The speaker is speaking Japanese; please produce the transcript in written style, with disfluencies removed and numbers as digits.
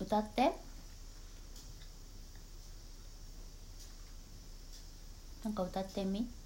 歌って。なんか歌ってみ。